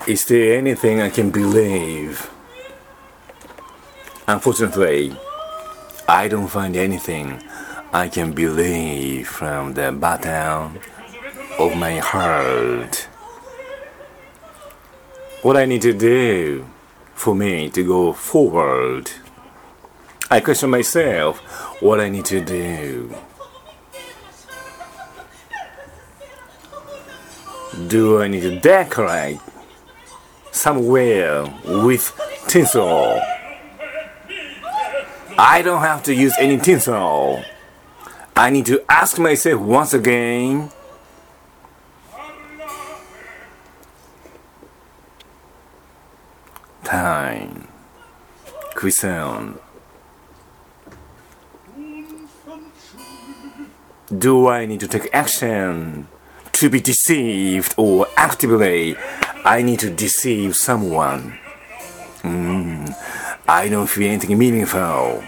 Is there anything I can believe? Unfortunately, I don't find anything I can believe from the bottom of my heart. What I need to do for me to go forward? I question myself what I need to do. Do I need to decorate somewhere with tinsel? I don't have to use any tinsel. I need to ask myself once again. Time. Question. Do I need to take action to be deceived, or actively I need to deceive someone? I don't feel anything meaningful.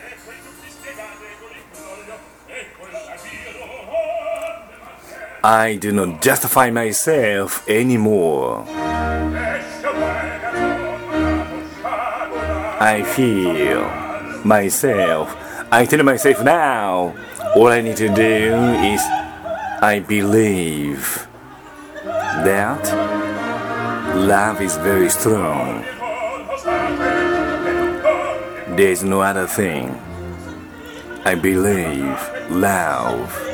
I do not justify myself anymore. I feel myself. I tell myself now, all I need to do is I believe that love is very strong. There's no other thing. I believe love.